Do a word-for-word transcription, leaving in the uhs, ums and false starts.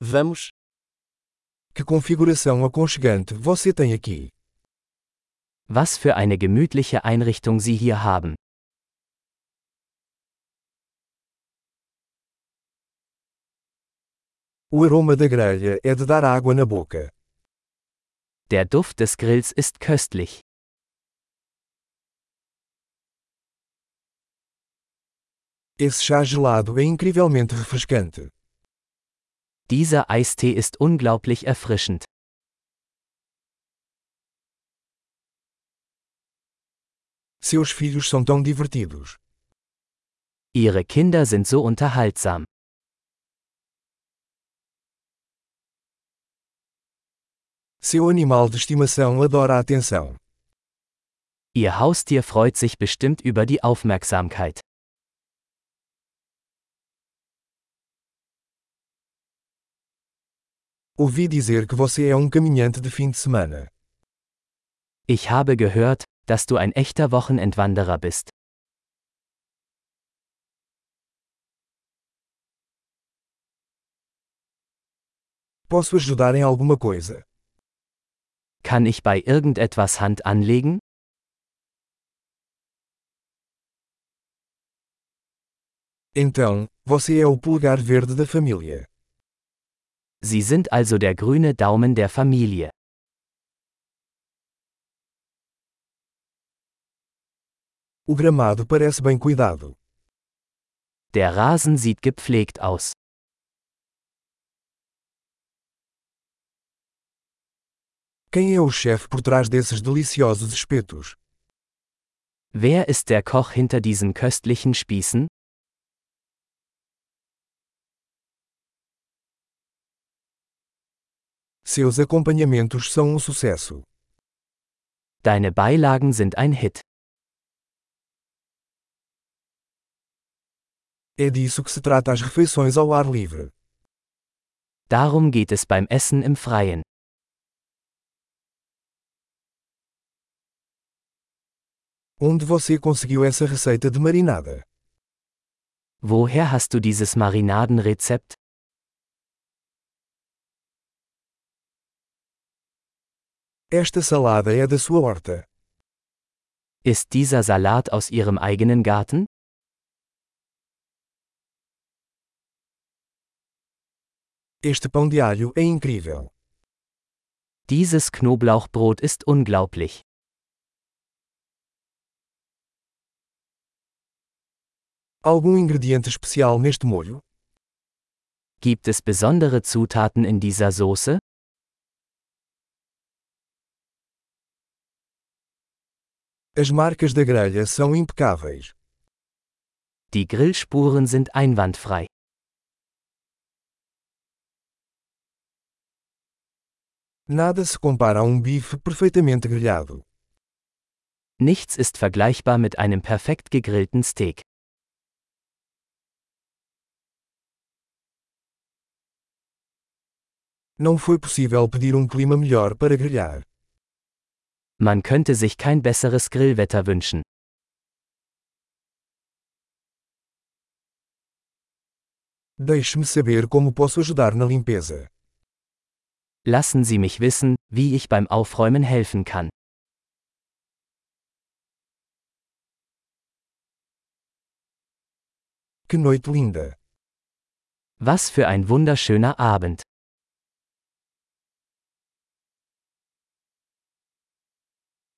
Vamos. Que configuração aconchegante você tem aqui. Was für eine gemütliche Einrichtung Sie hier haben. O aroma da grelha é de dar água na boca. Der Duft des Grills ist köstlich. Esse chá gelado é incrivelmente refrescante. Dieser Eistee ist unglaublich erfrischend. Seus filhos são tão divertidos. Ihre Kinder sind so unterhaltsam. Seu animal de estimação adora a atenção. Ihr Haustier freut sich bestimmt über die Aufmerksamkeit. Ouvi dizer que você é um caminhante de fim de semana. Ich habe gehört, dass du ein echter Wochenendwanderer bist. Posso ajudar em alguma coisa? Kann ich bei irgendetwas Hand anlegen? Então, você é o polegar verde da família. Sie sind also der grüne Daumen der Familie. O gramado parece bem cuidado. Der Rasen sieht gepflegt aus. Quem é o chefe por trás desses deliciosos espetos? Wer ist der Koch hinter diesen köstlichen Spießen? Seus acompanhamentos são um sucesso. Deine Beilagen sind ein Hit. É disso que se trata as refeições ao ar livre. Darum geht es beim Essen im Freien. Onde você conseguiu essa receita de marinada? Woher hast du dieses Marinadenrezept? Esta salada é da sua horta. Ist dieser Salat aus Ihrem eigenen Garten? Este pão de alho é incrível. Dieses Knoblauchbrot ist unglaublich. Algum ingrediente especial neste molho? Gibt es besondere Zutaten in dieser Soße? As marcas da grelha são impecáveis. Die Grillspuren sind einwandfrei. Nada se compara a um bife perfeitamente grelhado. Nichts ist vergleichbar mit einem perfekt gegrillten Steak. Não foi possível pedir um clima melhor para grelhar. Man könnte sich kein besseres Grillwetter wünschen. Deixe-me saber como posso ajudar na limpeza. Lassen Sie mich wissen, wie ich beim Aufräumen helfen kann. Que noite linda! Was für ein wunderschöner Abend!